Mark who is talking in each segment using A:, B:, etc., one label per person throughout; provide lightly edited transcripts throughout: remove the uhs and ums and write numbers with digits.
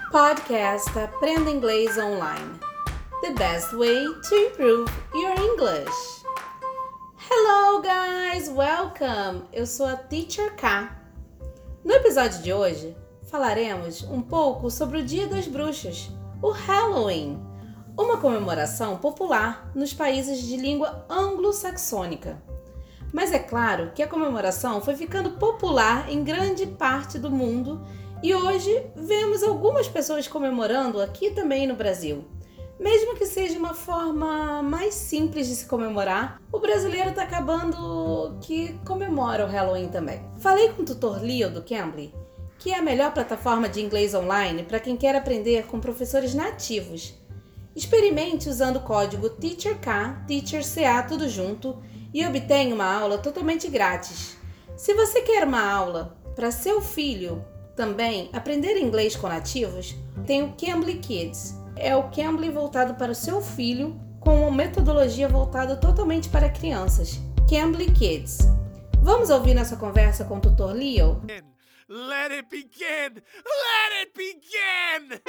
A: Podcast Aprenda Inglês Online. The best way to improve your English. Hello guys, welcome! Eu sou a Teacher K. No episódio de hoje, falaremos um pouco sobre o Dia das Bruxas, o Halloween, uma comemoração popular nos países de língua anglo-saxônica. Mas é claro que a comemoração foi ficando popular em grande parte do mundo e hoje vemos algumas pessoas comemorando aqui também no Brasil. Mesmo que seja uma forma mais simples de se comemorar, o brasileiro está acabando que comemora o Halloween também. Falei com o tutor Leo do Cambly, que é a melhor plataforma de inglês online para quem quer aprender com professores nativos. Experimente usando o código TEACHERK, TEACHERCA, tudo junto, e obtenha uma aula totalmente grátis. Se você quer uma aula para seu filho também aprender inglês com nativos, tem o Cambly Kids. É o Cambly voltado para o seu filho, com uma metodologia voltada totalmente para crianças. Cambly Kids. Vamos ouvir nossa conversa com o tutor Leo?
B: Let it begin! Let it begin!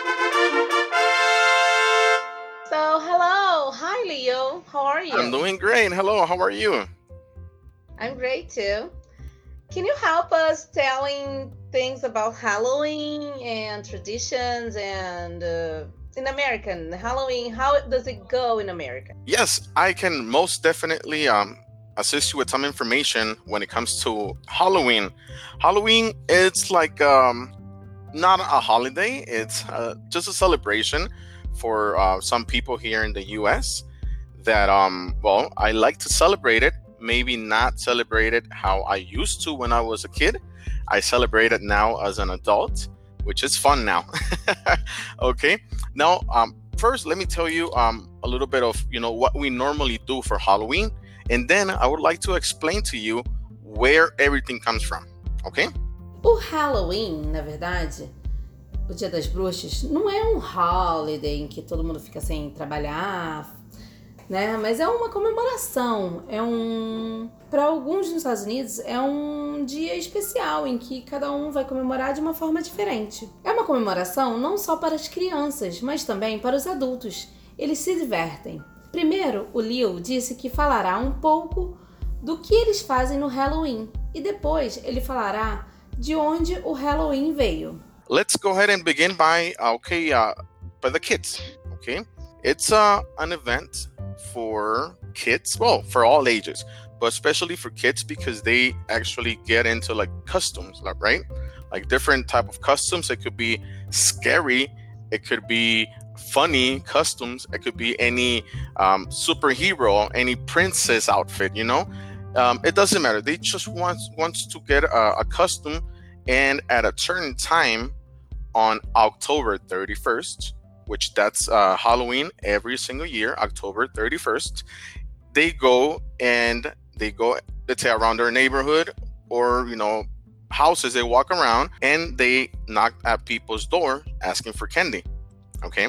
A: So, hello. Hi, Leo. How are you?
C: I'm doing great. Hello, how are you?
A: I'm great too. Can you help us telling things about Halloween and traditions and in American Halloween? How does it go in America?
C: Yes, I can most definitely assist you with some information when it comes to Halloween. Halloween, it's like not a holiday. It's just a celebration for some people here in the U.S. that, I like to celebrate it. Maybe not celebrate it how I used to when I was a kid. I celebrate it now as an adult, which is fun now. Okay. Now, first, let me tell you a little bit of, what we normally do for Halloween. And then I would like to explain to you where everything comes from. Okay?
A: O Halloween, na verdade, o Dia das Bruxas, não é um holiday em que todo mundo fica sem trabalhar, né? Mas é uma comemoração, para alguns nos Estados Unidos, é um dia especial em que cada um vai comemorar de uma forma diferente. É uma comemoração não só para as crianças, mas também para os adultos. Eles se divertem. Primeiro, o Leo disse que falará um pouco do que eles fazem no Halloween e depois ele falará de onde o Halloween veio.
C: Let's go ahead and begin by the kids. Okay, it's an event for kids, for all ages, but especially for kids because they actually get into like costumes, right? Like different type of costumes. It could be scary, it could be funny costumes, it could be any superhero, any princess outfit, it doesn't matter. They just wants to get a costume, and at a certain time on October 31st, which that's Halloween every single year, October 31st, they go, let's say, around their neighborhood or, houses. They walk around and they knock at people's door asking for candy. Okay.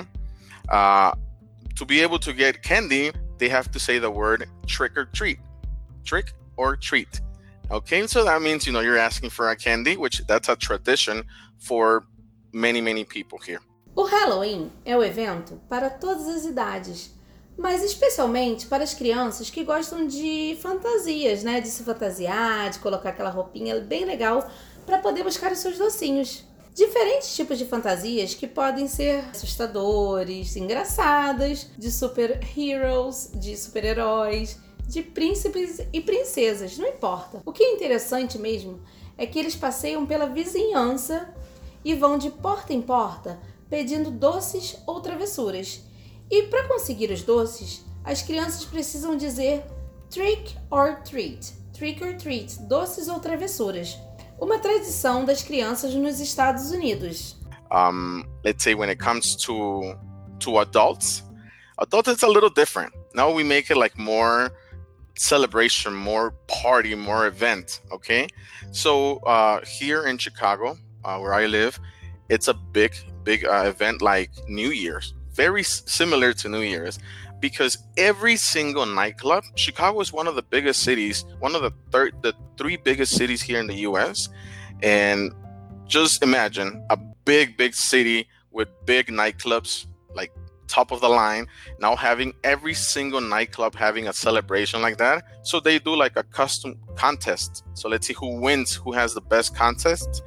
C: To be able to get candy, they have to say the word trick or treat. Trick or treat. Okay. So that means, you're asking for a candy, which that's a tradition for many, many people here.
A: O Halloween é o evento para todas as idades, mas especialmente para as crianças que gostam de fantasias, né? De se fantasiar, de colocar aquela roupinha bem legal para poder buscar os seus docinhos. Diferentes tipos de fantasias que podem ser assustadores, engraçadas, de super-heroes, de super-heróis, de príncipes e princesas, não importa. O que é interessante mesmo é que eles passeiam pela vizinhança e vão de porta em porta pedindo doces ou travessuras. E para conseguir os doces, as crianças precisam dizer trick or treat, doces ou travessuras. Uma tradição das crianças nos Estados Unidos.
C: Let's say when it comes to adults it's a little different. Now we make it like more celebration, more party, more event. Okay, so here in Chicago, where I live, it's a big event like New Year's, very similar to New Year's, because every single nightclub, Chicago is one of the biggest cities, one of the three biggest cities here in the U.S. And just imagine a big city with big nightclubs, like top of the line, now having every single nightclub having a celebration like that. So they do like a custom contest. So let's see who wins, who has the best contest,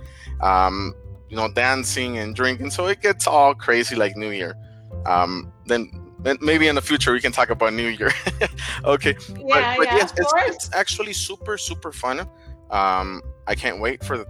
C: dancing and drinking. So it gets all crazy like New Year. Then maybe in the future we can talk about New Year. Okay.
A: Yeah,
C: but
A: yeah,
C: yes,
A: of course.
C: it's actually super, super fun. I can't wait for the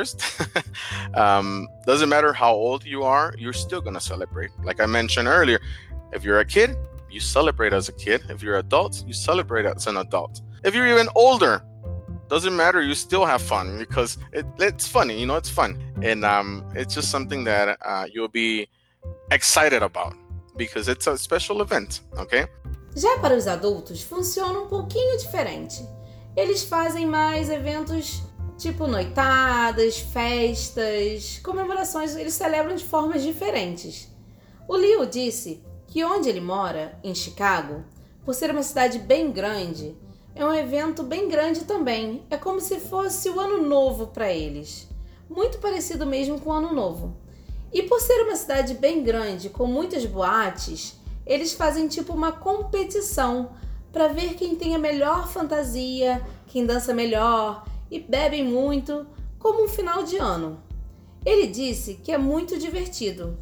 C: 31st. Doesn't matter how old you are, you're still going to celebrate. Like I mentioned earlier, if you're a kid, you celebrate as a kid. If you're an adult, you celebrate as an adult. If you're even older, doesn't matter, you still have fun because it's funny, it's fun. And it's just something that you'll be excited about because it's a special event, okay?
A: Já para os adultos, funciona um pouquinho diferente. Eles fazem mais eventos tipo noitadas, festas, comemorações, eles celebram de formas diferentes. O Leo disse que onde ele mora, em Chicago, por ser uma cidade bem grande, é um evento bem grande também. É como se fosse o Ano Novo para eles. Muito parecido mesmo com o Ano Novo. E por ser uma cidade bem grande, com muitas boates, eles fazem tipo uma competição para ver quem tem a melhor fantasia, quem dança melhor e bebem muito, como um final de ano. Ele disse que é muito divertido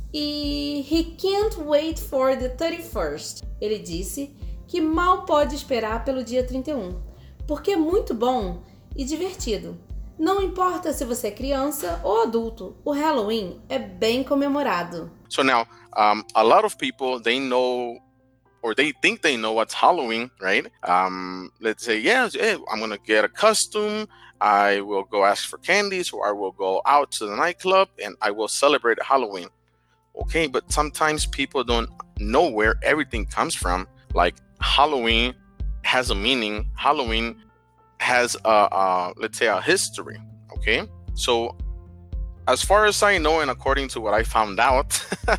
A: e he can't wait for the 31st. Ele disse que mal pode esperar pelo dia 31, porque é muito bom e divertido. Não importa se você é criança ou adulto, o Halloween é bem comemorado.
C: So now, a lot of people, they know or they think they know what's Halloween, right? Let's say, I'm going to get a costume. I will go ask for candies, or I will go out to the nightclub and I will celebrate Halloween. Okay, but sometimes people don't know where everything comes from. Like Halloween has a meaning. Halloween has let's say a history. Okay, so as far as I know, and according to what I found out,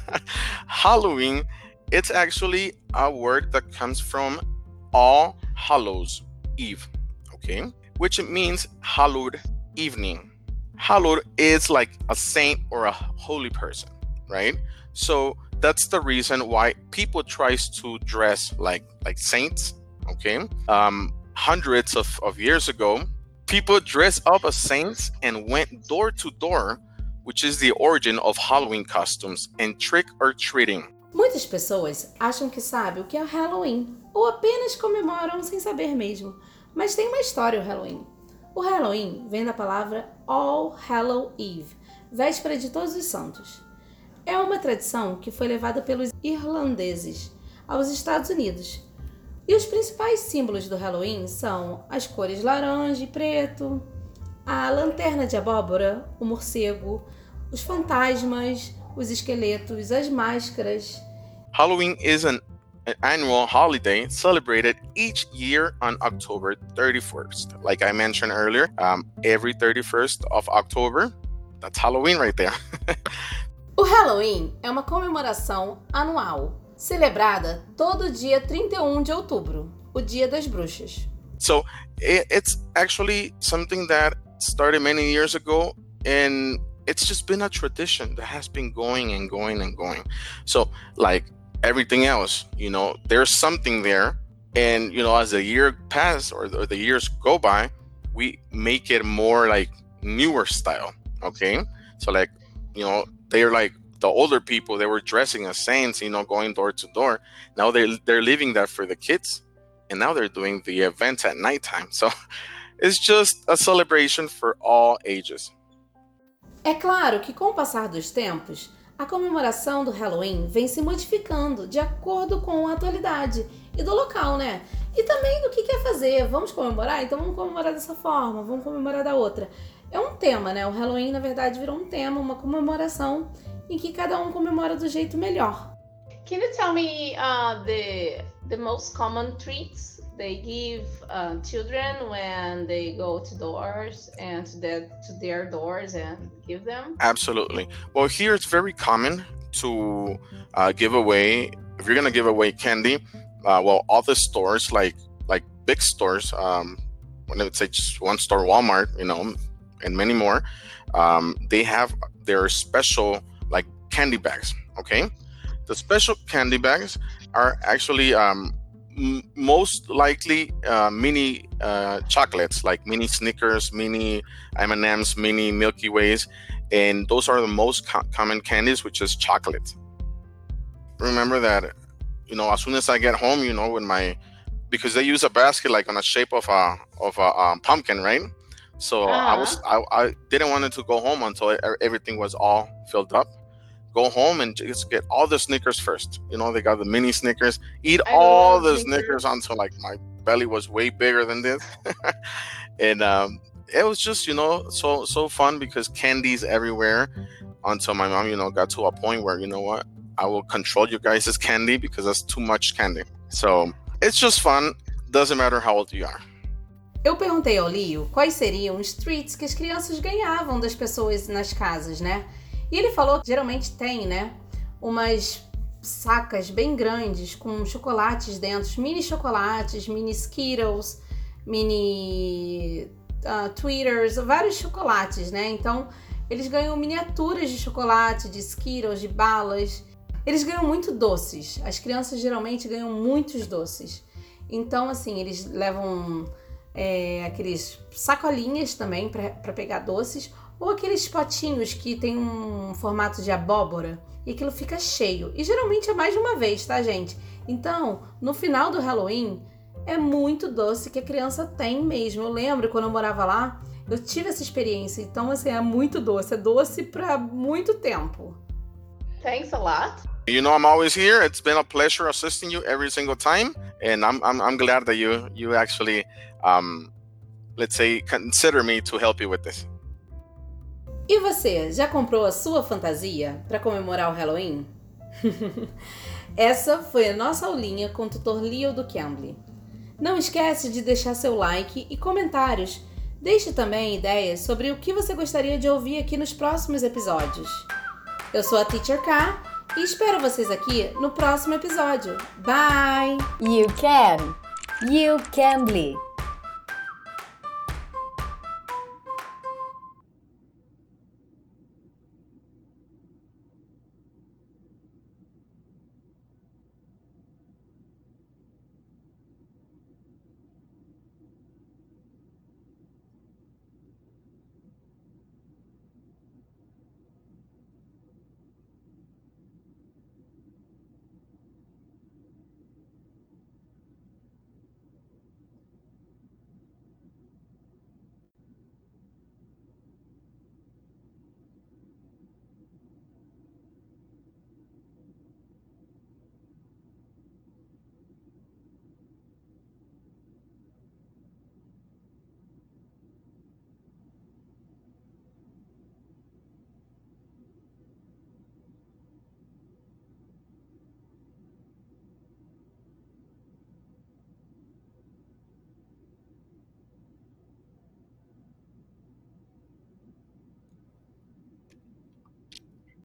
C: Halloween, it's actually a word that comes from All Hallows Eve, okay, which means hallowed evening. Hallowed is like a saint or a holy person, right? So that's the reason why people tries to dress like saints, okay? Hundreds of years ago, people dressed up as saints and went door to door, which is the origin of Halloween costumes and trick or treating.
A: Muitas pessoas acham que sabem o que é o Halloween ou apenas comemoram sem saber mesmo, mas tem uma história o Halloween. O Halloween vem da palavra All Hallow Eve, véspera de Todos os Santos. É uma tradição que foi levada pelos irlandeses aos Estados Unidos. E os principais símbolos do Halloween são as cores laranja e preto, a lanterna de abóbora, o morcego, os fantasmas, os esqueletos, as máscaras.
C: Halloween is an annual holiday celebrated each year on October 31st. Like I mentioned earlier, every 31st of October, that's Halloween right there.
A: O Halloween é uma comemoração anual, celebrada todo dia 31 de outubro, o Dia das Bruxas.
C: So it's actually something that started many years ago, and it's just been a tradition that has been going and going and going. So like everything else, there's something there, and as the year passes or the years go by, we make it more like newer style. Okay, so like they're like the older people, they were dressing as saints, going door to door. Now they're leaving that for the kids, and now they're doing the events at nighttime. So it's just a celebration for all ages.
A: É claro que com o passar dos tempos, a comemoração do Halloween vem se modificando de acordo com a atualidade e do local, né? E também do que quer fazer. Vamos comemorar? Então vamos comemorar dessa forma, vamos comemorar da outra. É um tema, né? O Halloween, na verdade, virou um tema, uma comemoração em que cada um comemora do jeito melhor.
D: Can you tell me the most common treats they give children when they go to doors and to their doors and give them?
C: Absolutely. Well, here it's very common to give away, if you're going to give away candy, all the stores, like big stores, when I would say just one store, Walmart, and many more, they have their special like candy bags. Okay, the special candy bags are actually most likely mini chocolates, like mini Snickers, mini M&Ms, mini Milky Ways, and those are the most common candies, which is chocolate. Remember that, as soon as I get home, because they use a basket like on a shape of a pumpkin, right? So I didn't want it to go home until everything was all filled up. Go home and just get all the Snickers first. They got the mini Snickers. Eat all the Snickers until like my belly was way bigger than this. And it was just, so fun because candy's everywhere until my mom, got to a point where, what, I will control you guys' candy because that's too much candy. So it's just fun. Doesn't matter how old you are.
A: Eu perguntei ao Leo quais seriam os treats que as crianças ganhavam das pessoas nas casas, né? E ele falou que geralmente tem, né, umas sacas bem grandes com chocolates dentro, mini chocolates, mini Skittles, mini Tweeters, vários chocolates, né? Então, eles ganham miniaturas de chocolate, de Skittles, de balas. Eles ganham muito doces. As crianças geralmente ganham muitos doces. Então, assim, eles levam aqueles sacolinhas também para pegar doces, ou aqueles potinhos que tem um formato de abóbora e aquilo fica cheio. E geralmente é mais de uma vez, tá, gente? Então, no final do Halloween, é muito doce que a criança tem mesmo. Eu lembro quando eu morava lá, eu tive essa experiência. Então, assim, é muito doce. É doce para muito tempo.
D: Thanks a lot.
C: I'm always here. It's been a pleasure assisting you every single time, and I'm glad that you actually, let's say, consider me to help you with this.
A: E você, já comprou a sua fantasia para comemorar o Halloween? Essa foi a nossa aulinha com o tutor Leo do Cambly. Não esquece de deixar seu like e comentários. Deixe também ideias sobre o que você gostaria de ouvir aqui nos próximos episódios. Eu sou a Teacher K e espero vocês aqui no próximo episódio. Bye!
E: You can! You Cambly!